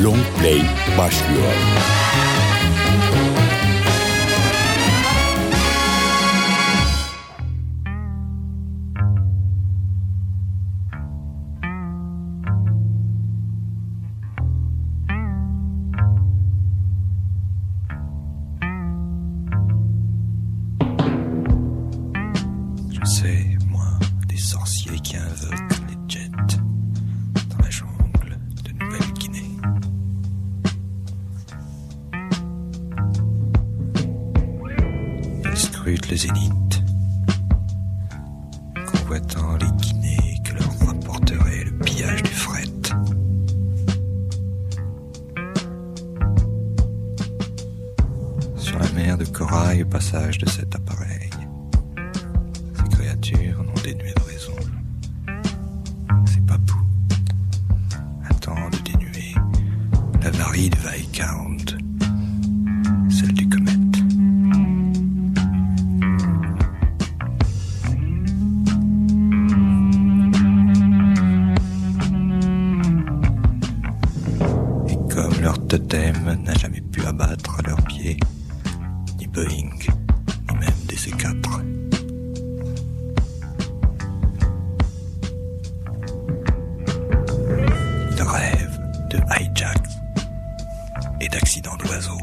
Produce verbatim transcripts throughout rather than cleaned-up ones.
Long Play başlıyor. Le zénith, convoitant les guinées que leur rapporterait le pillage du fret. Sur la mer de corail, au passage de cet appareil, ces créatures non dénuées de raison, ces papous attendent de dénuer la varie de Viscount, celle du comète. Totem n'a jamais pu abattre à leurs pieds ni Boeing, ni même des C quatre. Ils rêvent de hijacks et d'accidents d'oiseaux.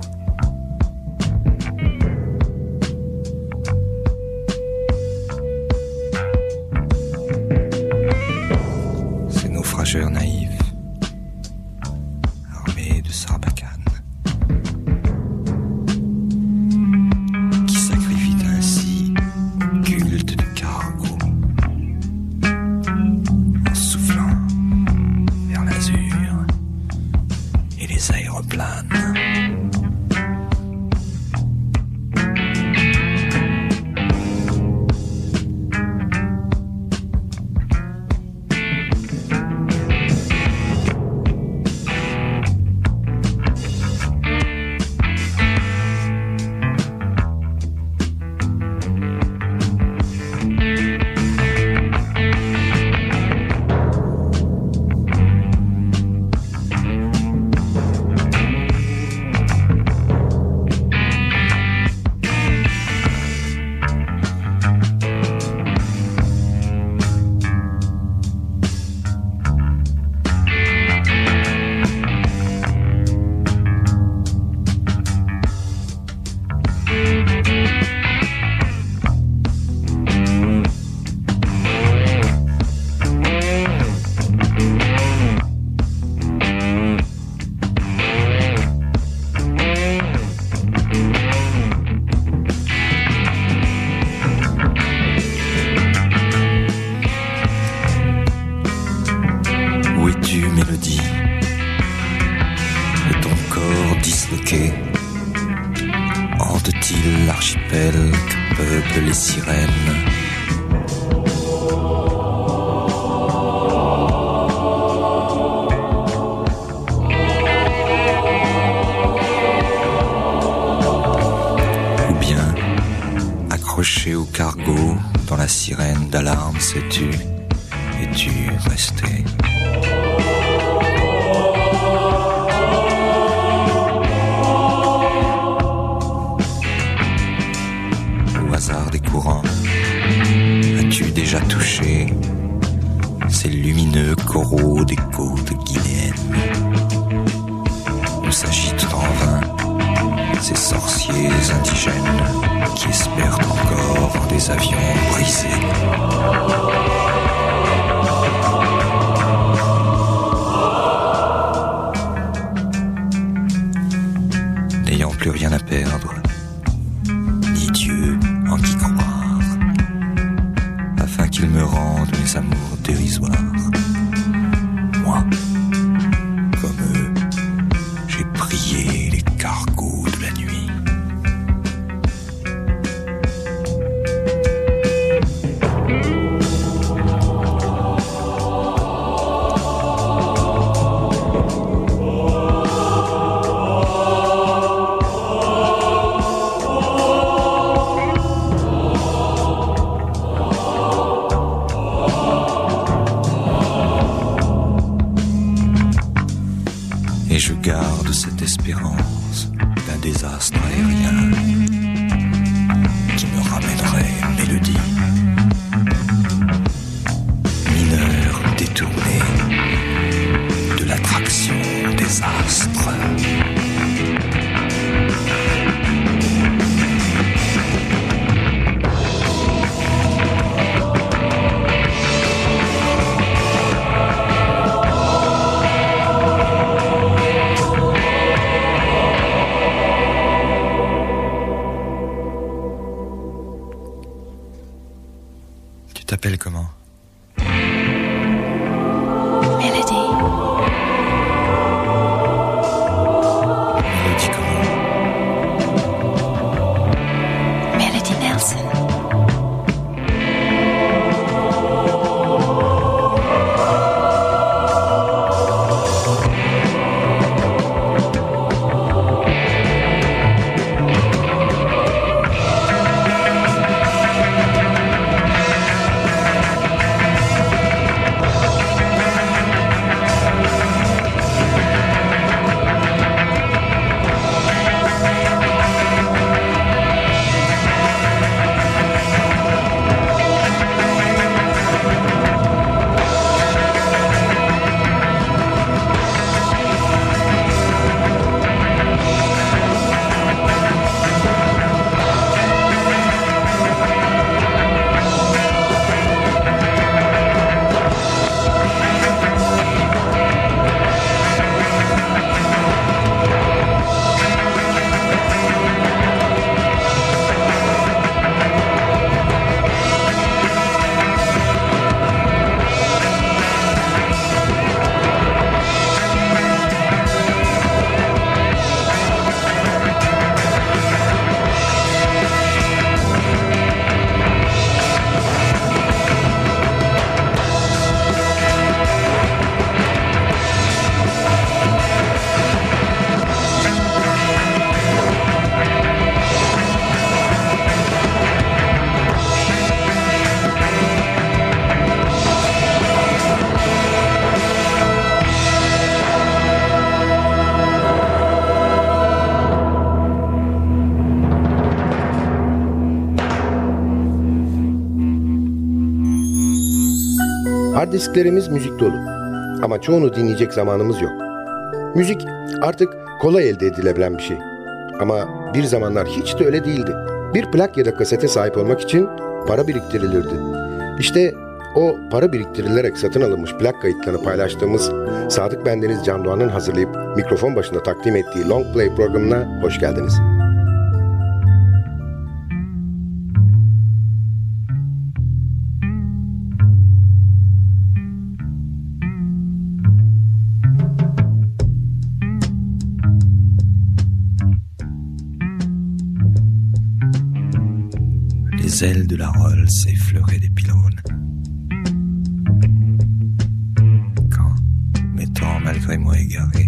Ces naufrageurs naïfs, hante-t-il l'archipel que peuplent les sirènes? Ou bien, accroché au cargo, dans la sirène d'alarme, sais-tu, es-tu resté? Des courants, as-tu déjà touché ces lumineux coraux des côtes guinéennes où s'agitent en vain ces sorciers indigènes qui espèrent encore en des avions brisés? N'ayant plus rien à perdre, ni Dieu en qui croire, afin qu'il me rende mes amours dérisoires. Moi, comme eux, j'ai prié les cargos de la nuit. garde cette espérance d'un désastre aérien qui me ramènerait une mélodie. Mineur détourné de l'attraction des astres. Tu t'appelles comment ? Mélodie. Mélodie comment ? Mélodie Nelson. Hard disklerimiz müzik dolu ama çoğunu dinleyecek zamanımız yok. Müzik artık kolay elde edilebilen bir şey. Ama bir zamanlar hiç de öyle değildi. Bir plak ya da kasete sahip olmak için para biriktirilirdi. İşte o para biriktirilerek satın alınmış plak kayıtlarını paylaştığımız Sadık Bendeniz Can Doğan'ın hazırlayıp mikrofon başında takdim ettiği Long Play programına hoş geldiniz. Les ailes de la Rolls effleuraient des pylônes. Quand, m'étant malgré moi égaré,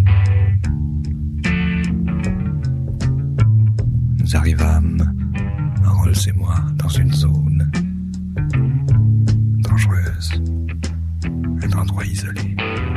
nous arrivâmes, Rolls et moi, dans une zone dangereuse, un endroit isolé.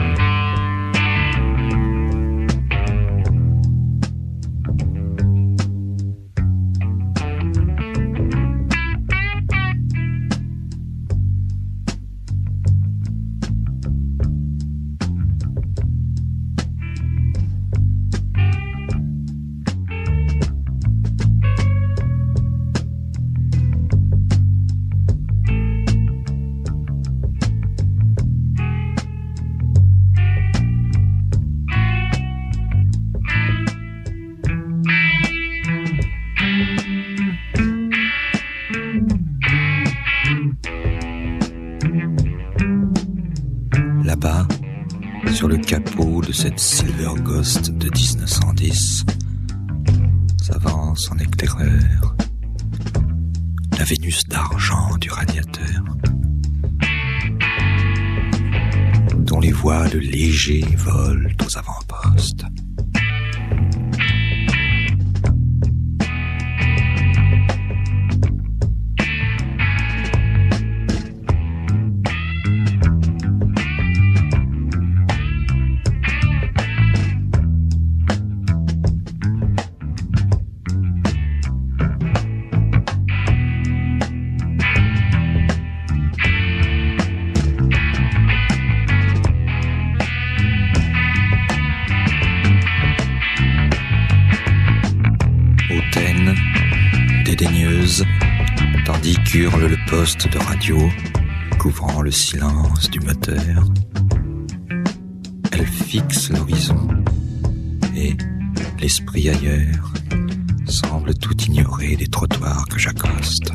Là-bas, sur le capot de cette Silver Ghost de dix-neuf cent dix, s'avance en éclaireur la Vénus d'argent du radiateur, dont les voiles légers volent aux avant-postes. hurle le poste de radio, couvrant le silence du moteur. Elle fixe l'horizon et, l'esprit ailleurs, semble tout ignorer des trottoirs que j'accoste.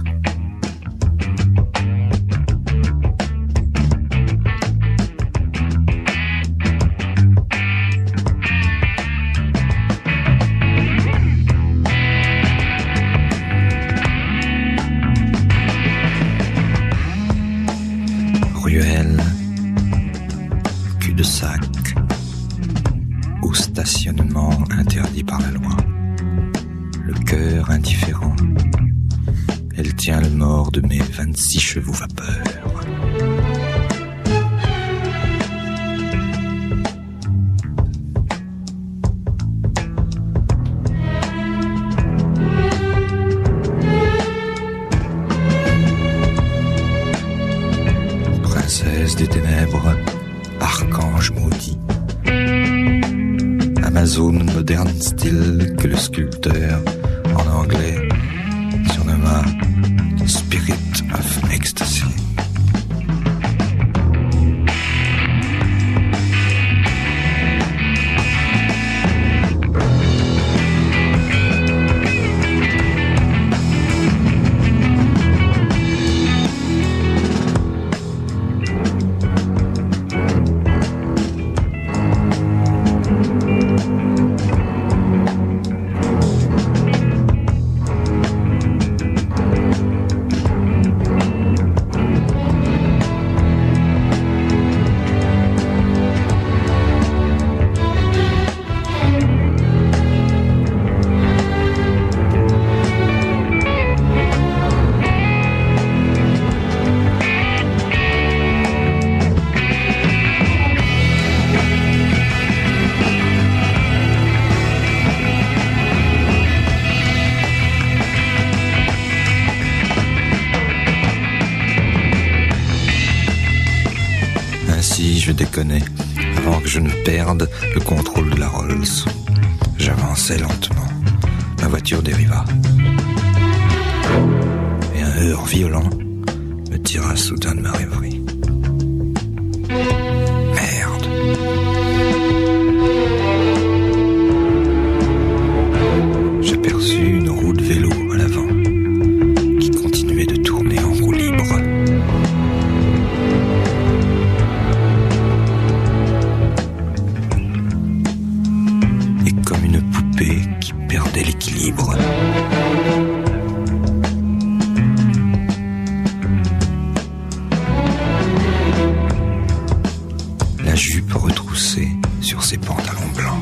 Ruelle, cul-de-sac, au stationnement interdit par la loi. Le cœur indifférent, elle tient le mort de mes vingt-six chevaux vapeur. Princesse des ténèbres, archange maudit, Amazone moderne style que le sculpteur, en anglais, surnomma Spirit of Ecstasy. Ainsi, je déconnais, avant que je ne perde le contrôle de la Rolls. J'avançais lentement. Ma voiture dériva. Et un heurt violent me tira soudain de ma rêverie. Merde. J'aperçus une roue de vélo à l'avant qui continuait de tourner en roue libre. Qui perdait l'équilibre. La jupe retroussée sur ses pantalons blancs.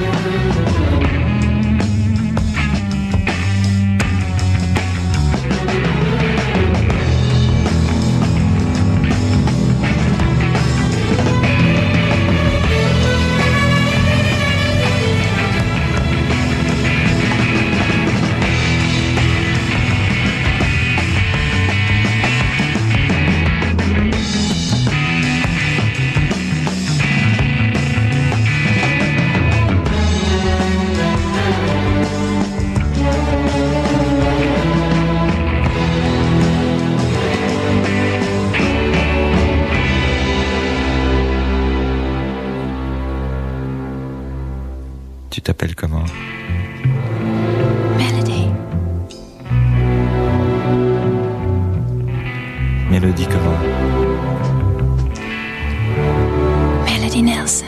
Tu t'appelles comment? Melody. Mélodie comment? Melody Nelson.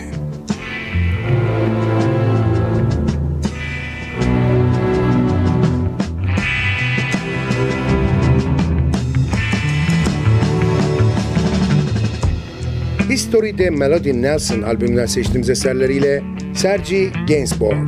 History'de Melody Nelson albümünden seçtiğimiz eserleriyle Serge Gainsbourg.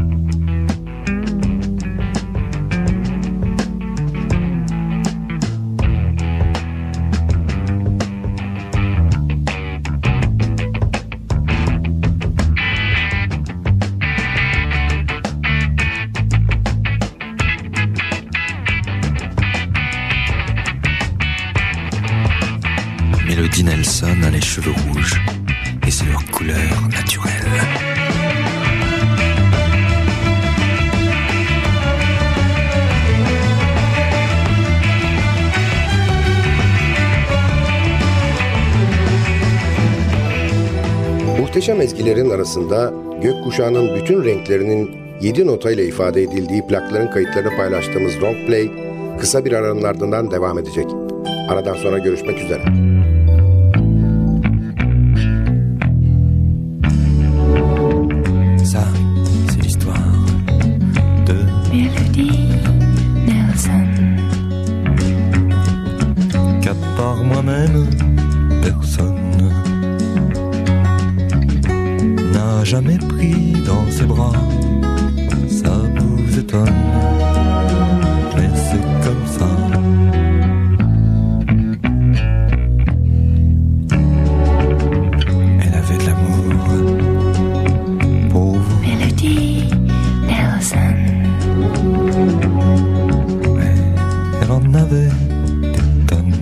Melody Nelson a les cheveux rouges et c'est leur couleur naturelle. Muhteşem ezgilerin arasında gökkuşağının bütün renklerinin yedi notayla ifade edildiği plakların kayıtlarını paylaştığımız Long Play kısa bir aranın ardından devam edecek. Aradan sonra görüşmek üzere. Ça, c'est l'histoire de Melody Nelson. qu'à part moi-même, personne n'a jamais pris dans ses bras. Ça vous étonne, mais c'est comme ça. Elle avait de l'amour pour vous. Melody Nelson. Mais elle en avait des tonnes.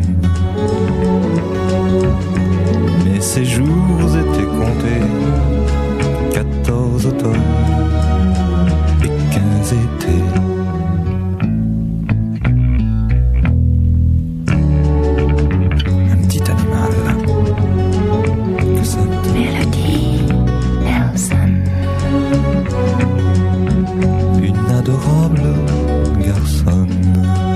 Mais ses jours étaient comptés. Quatorze automnes et quinze étés. Un petit animal que ça te... Melody Nelson. Une adorable garçonne.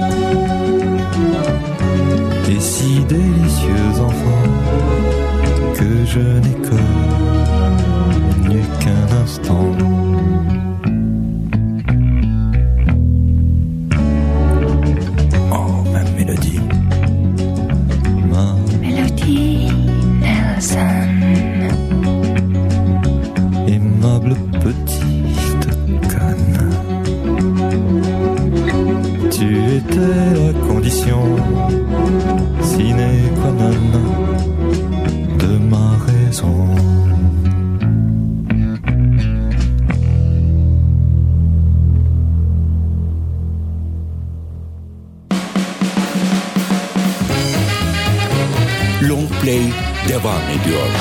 Et si délicieux enfant que je n'ai connu qu'un instant. Oh, ma mélodie, ma Melody Nelson. aimable petite conne. Tu étais la condition sine qua non de ma raison. Long Play devam ediyor.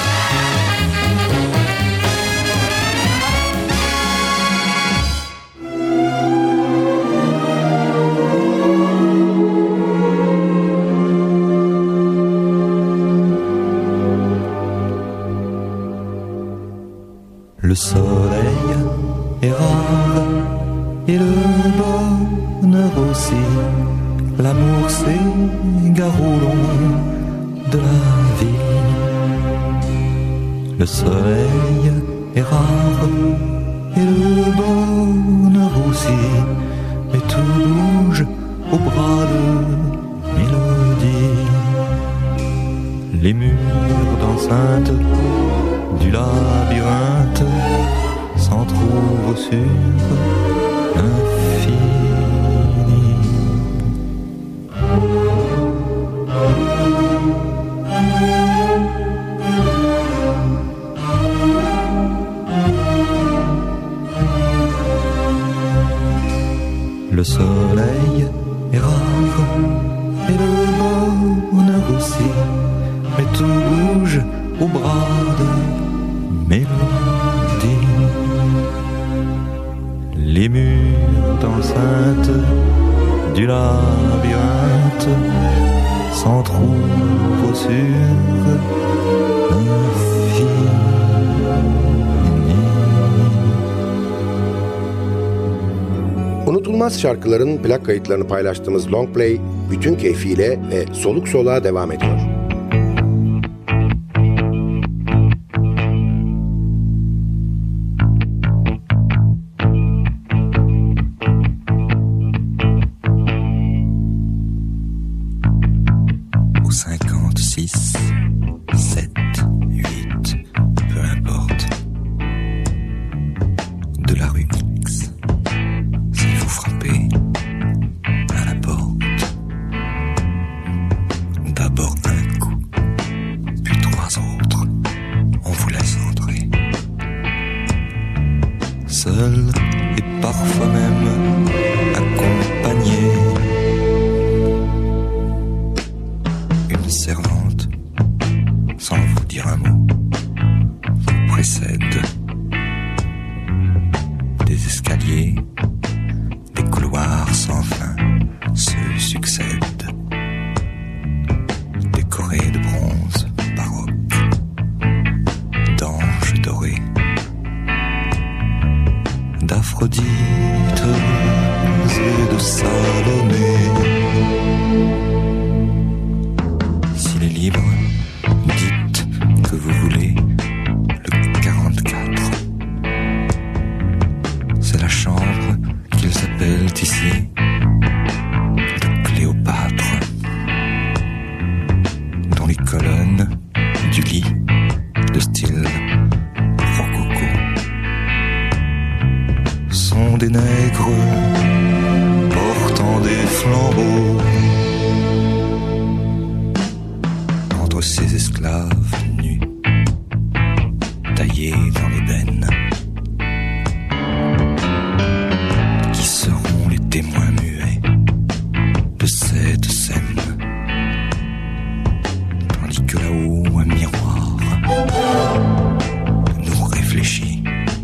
Le soleil est rare et le bonheur aussi. L'amour s'égare au long de la vie. Le soleil est rare et le bonheur aussi. Mais tout bouge au bras de mélodie. Les murs d'enceinte du labyrinthe s'en trouvent sur l'infini. Le soleil est rare et le bonheur aussi, mais tout bouge au bras de mélodie. Les murs d'enceinte du labyrinthe s'en trouvent sur l'infini. Unutulmaz şarkıların plak kayıtlarını paylaştığımız Long Play bütün keyfiyle ve soluk soluğa devam ediyor. Au cinquante-six, sept, huit, peu importe. De la rue X, si vous frappez à la porte, d'abord un coup, puis trois autres, on vous laisse entrer. Seul et parfois même accompagné. Une servante, sans vous dire un mot, vous précède. Des escaliers, des couloirs sans fin se succèdent. Décorés de bronze baroque, d'anges rococo, sont des nègres portant des flambeaux. Entre ces esclaves nus, taillés dans l'ébène, qui seront les témoins muets de cette scène, tandis que là-haut un miroir nous réfléchit.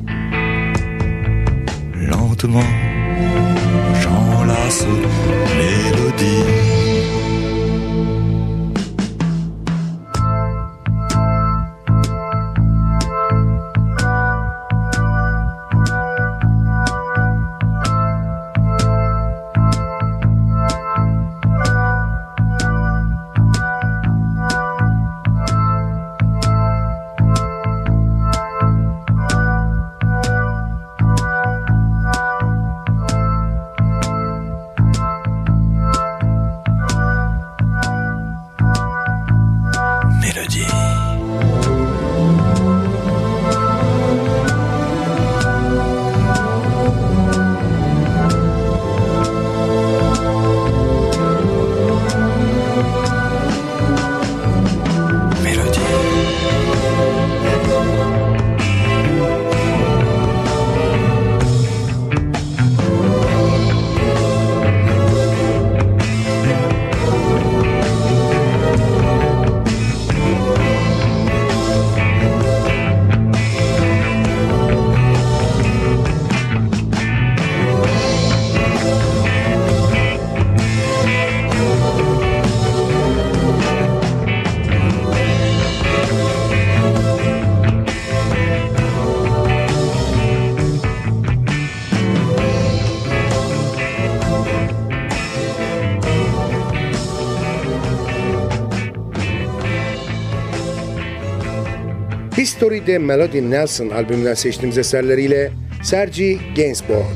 Lentement, j'enlace mélodie. History'de Melody Nelson albümünden seçtiğimiz eserleriyle Serge Gainsbourg.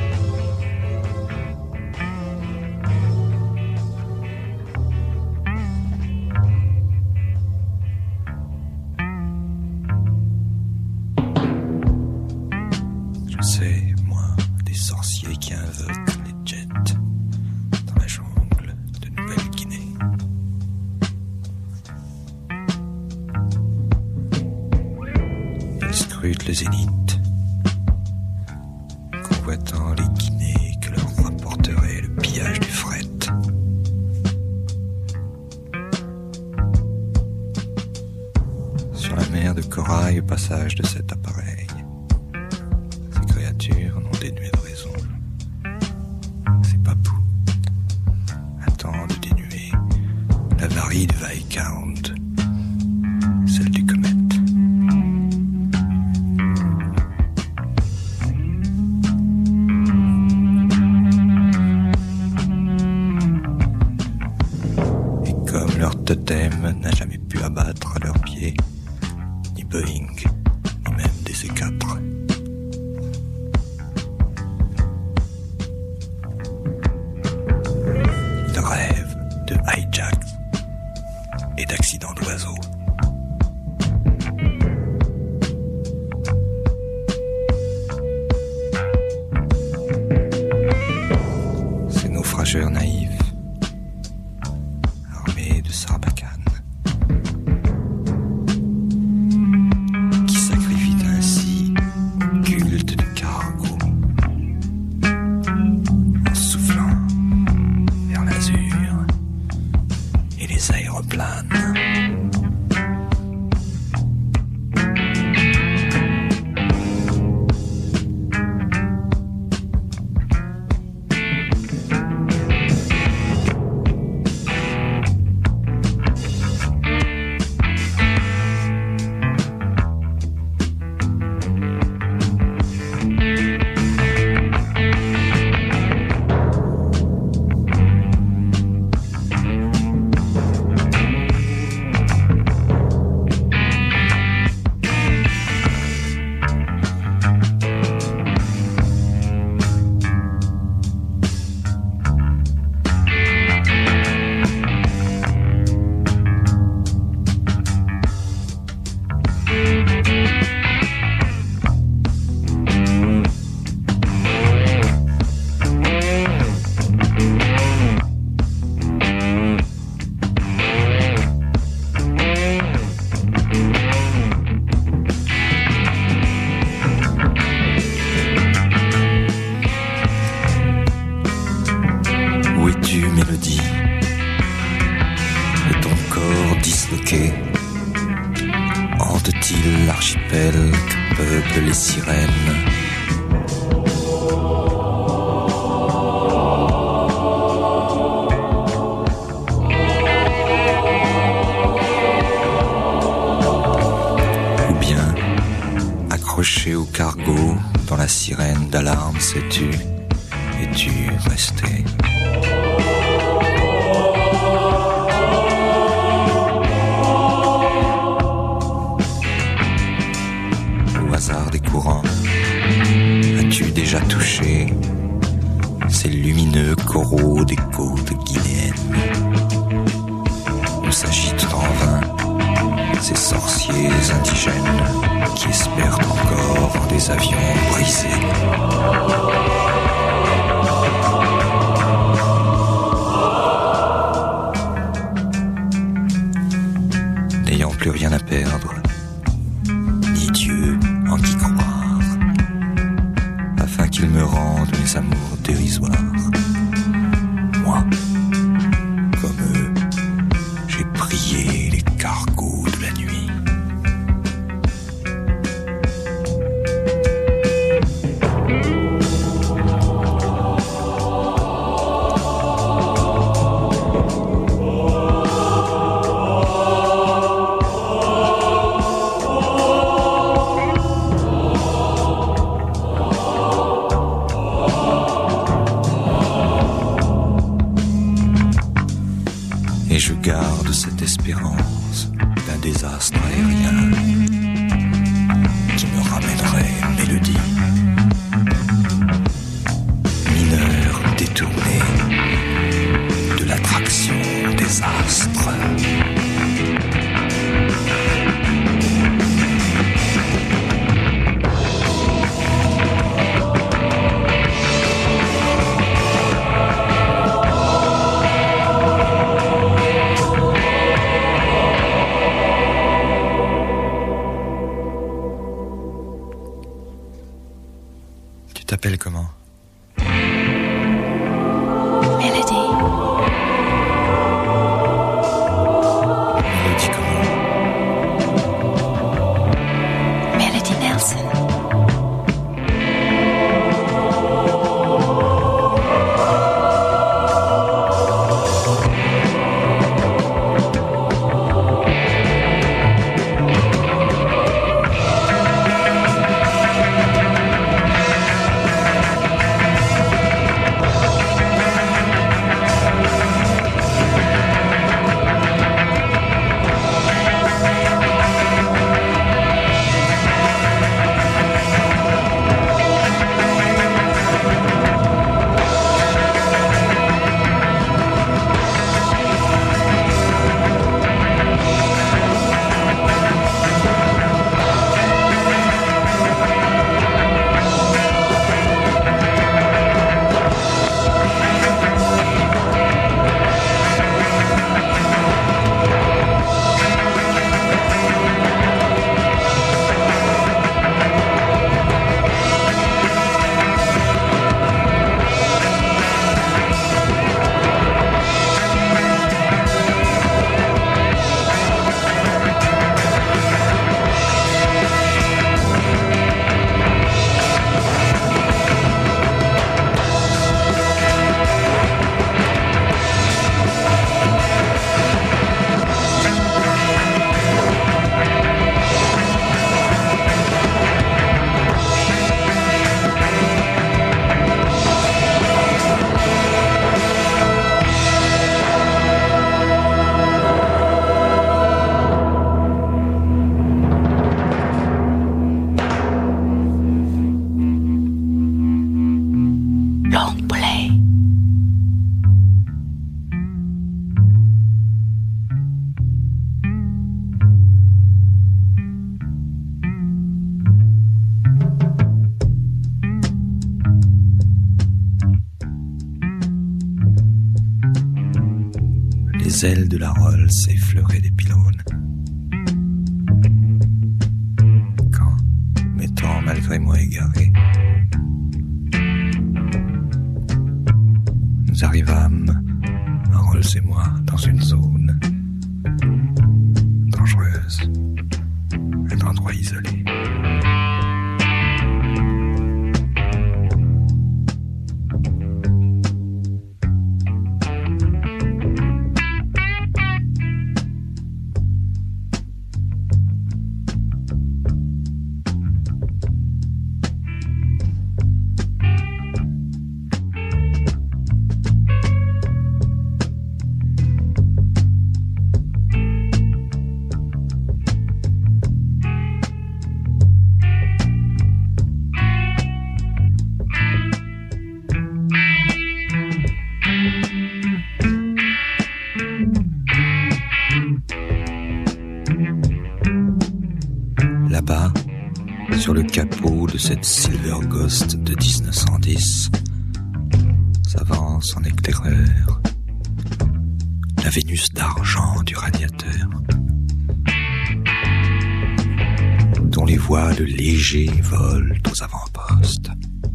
Je sais, moi, des sorciers qui invoquent les jets dans la jungle de Nouvelle-Guinée. Ils scrutent le zénith, convoitant les Guinées que leur rapporterait le pillage du fret. Sur la mer de corail au passage de cet appareil, ces créatures non dénuées de raison, ces papous attendent de dénuer la varie de Viscount, celle du comète. Leur totem n'a jamais pu abattre à leurs pieds ni Boeing, ni même des C quatre. Ils rêvent de hijack et d'accidents d'oiseaux. Ces naufrageurs naïfs, de Sarbacane, qui sacrifient ainsi l'archipel que peuplent les sirènes. Ou bien, accroché au cargo, dans la sirène d'alarme, sais-tu, es-tu resté? Des courants, as-tu déjà touché ces lumineux coraux des côtes guinéennes où s'agitent en vain ces sorciers indigènes qui espèrent encore en des avions brisés? N'ayant plus rien à perdre, ni Dieu en qui croire, afin qu'il me rende mes amours dérisoires. Moi, comme eux, j'ai prié les cargos de la nuit. Et je garde cette espérance d'un désastre aérien qui me ramènerait une mélodie. Mineur détourné de l'attraction des astres. Tu t'appelles comment? Melody. Mélodie comment? Melody Nelson. Long play. Les ailes de la Rolls effleuraient des pylônes. Quand, m'étant malgré moi égaré, nous arrivâmes, Rolls et moi, dans une zone dangereuse, un endroit isolé. gelée. Là-bas, sur le capot de cette Silver Ghost de dix-neuf cent dix, s'avance en éclaireur la Vénus d'argent du radiateur, dont les voiles légers volent aux avant-postes.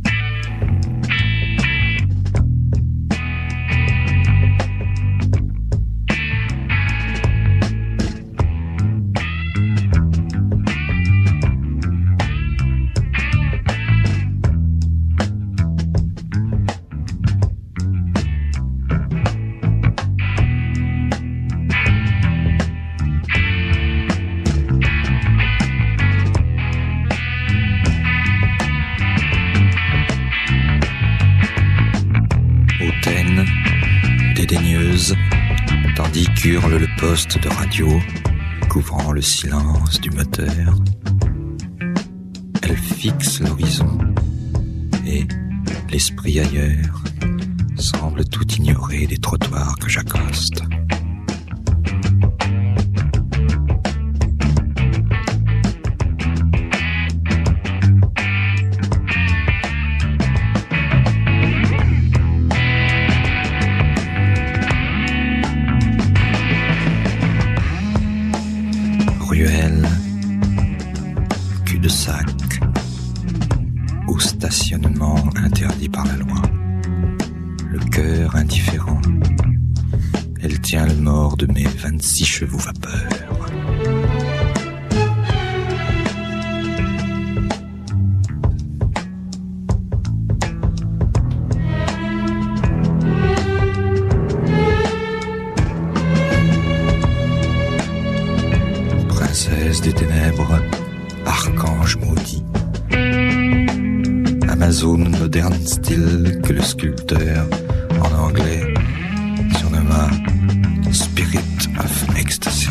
Dédaigneuse, tandis qu'hurle le poste de radio, couvrant le silence du moteur. Elle fixe l'horizon, et, l'esprit ailleurs, semble tout ignorer des trottoirs que j'accoste. Ruelle, cul-de-sac, ou stationnement interdit par la loi. Le cœur indifférent, elle tient le mort de mes vingt-six chevaux vapeur. Des ténèbres, archange maudit, Amazone moderne style que le sculpteur, en anglais, surnomma Spirit of Ecstasy.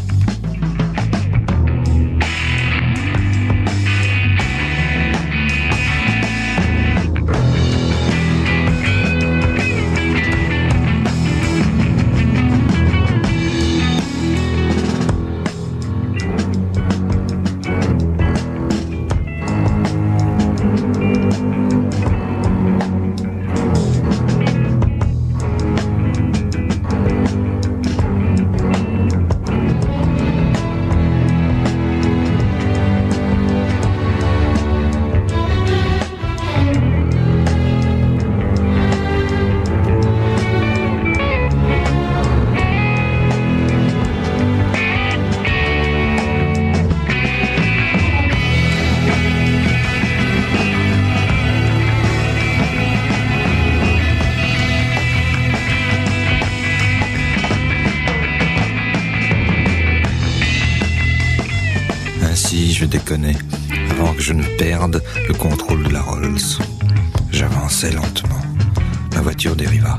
Ainsi, je déconnais, avant que je ne perde le contrôle de la Rolls. J'avançais lentement. Ma voiture dériva.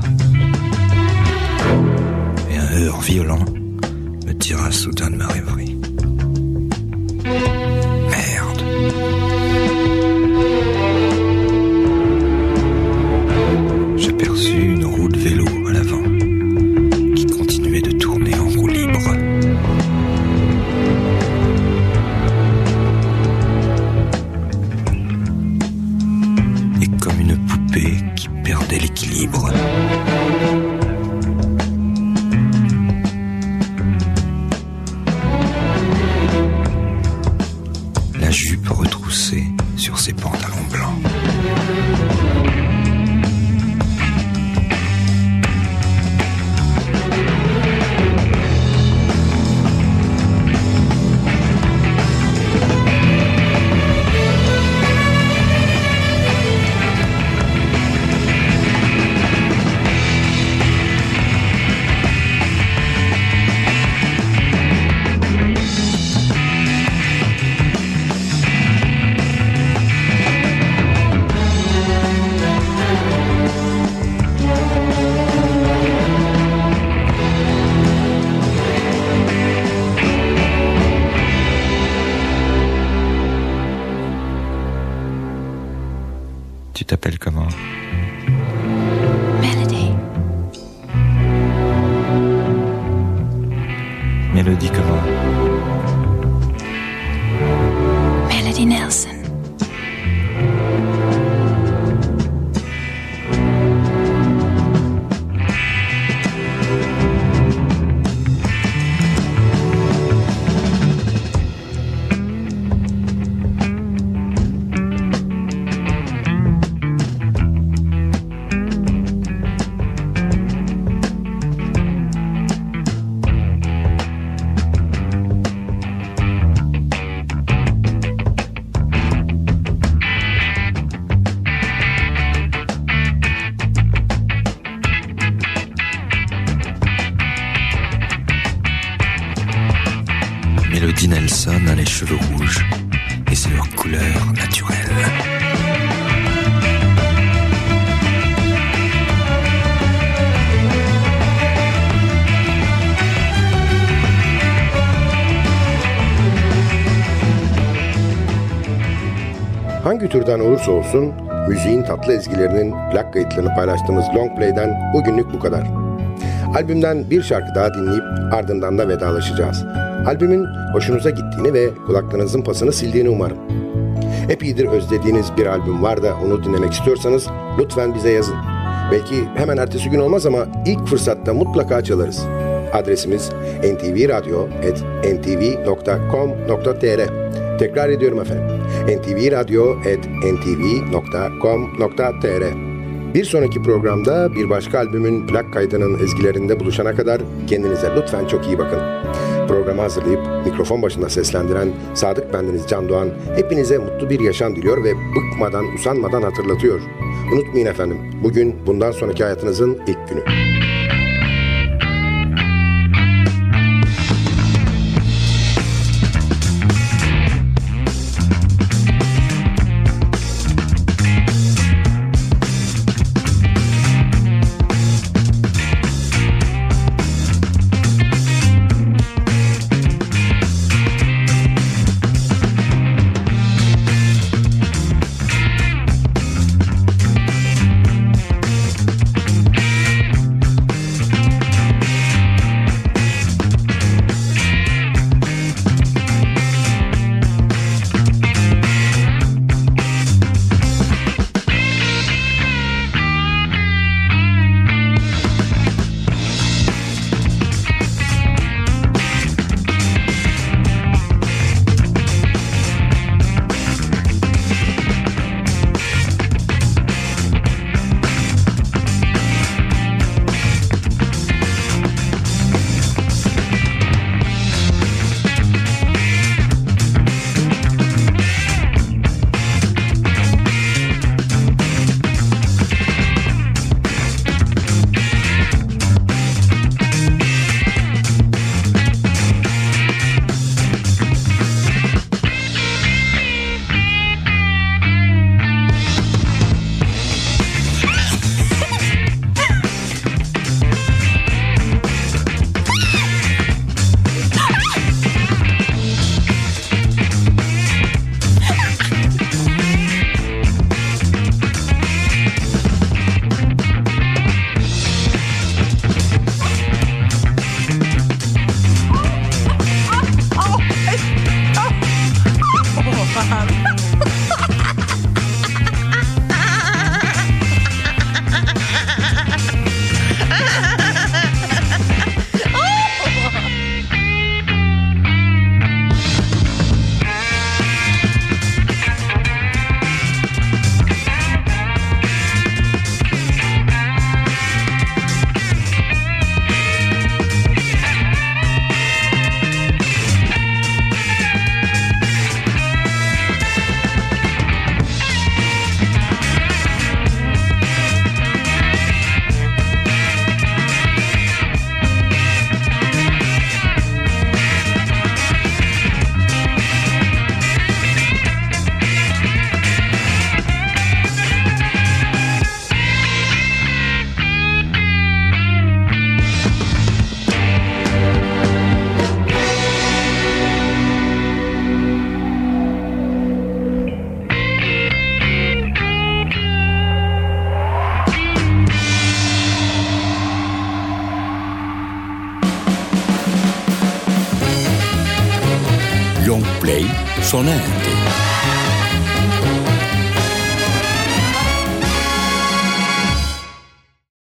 Et un heurt violent me tira soudain de ma rêverie. Merde. J'aperçus une roue de vélo à l'avant qui continuait de tourner en roue libre. Comme une poupée qui perdait l'équilibre. La jupe retroussée sur ses pantalons blancs. Tu t'appelles comment? Melody. Mélodie comment? Melody Nelson. Melody Nelson a les cheveux rouges et c'est leur couleur naturelle. Hangi türden olursa olsun müziğin tatlı ezgilerinin plak kayıtlarını paylaştığımız Long Play'den bugünlük bu kadar. Albümden bir şarkı daha dinleyip ardından da vedalaşacağız. Albümün hoşunuza gittiğini ve kulaklarınızın pasını sildiğini umarım. Epeydir özlediğiniz bir albüm var da onu dinlemek istiyorsanız lütfen bize yazın. Belki hemen ertesi gün olmaz ama ilk fırsatta mutlaka çalarız. Adresimiz en ti vi radyo at en ti vi nokta com nokta tr. Tekrar ediyorum efendim. en ti vi radyo at en ti vi nokta com nokta tr. Bir sonraki programda bir başka albümün plak kaydının ezgilerinde buluşana kadar kendinize lütfen çok iyi bakın. Programı hazırlayıp mikrofon başında seslendiren Sadık bendeniz Can Doğan hepinize mutlu bir yaşam diliyor ve bıkmadan, usanmadan hatırlatıyor. Unutmayın efendim, bugün bundan sonraki hayatınızın ilk günü. Long Play sona erdi.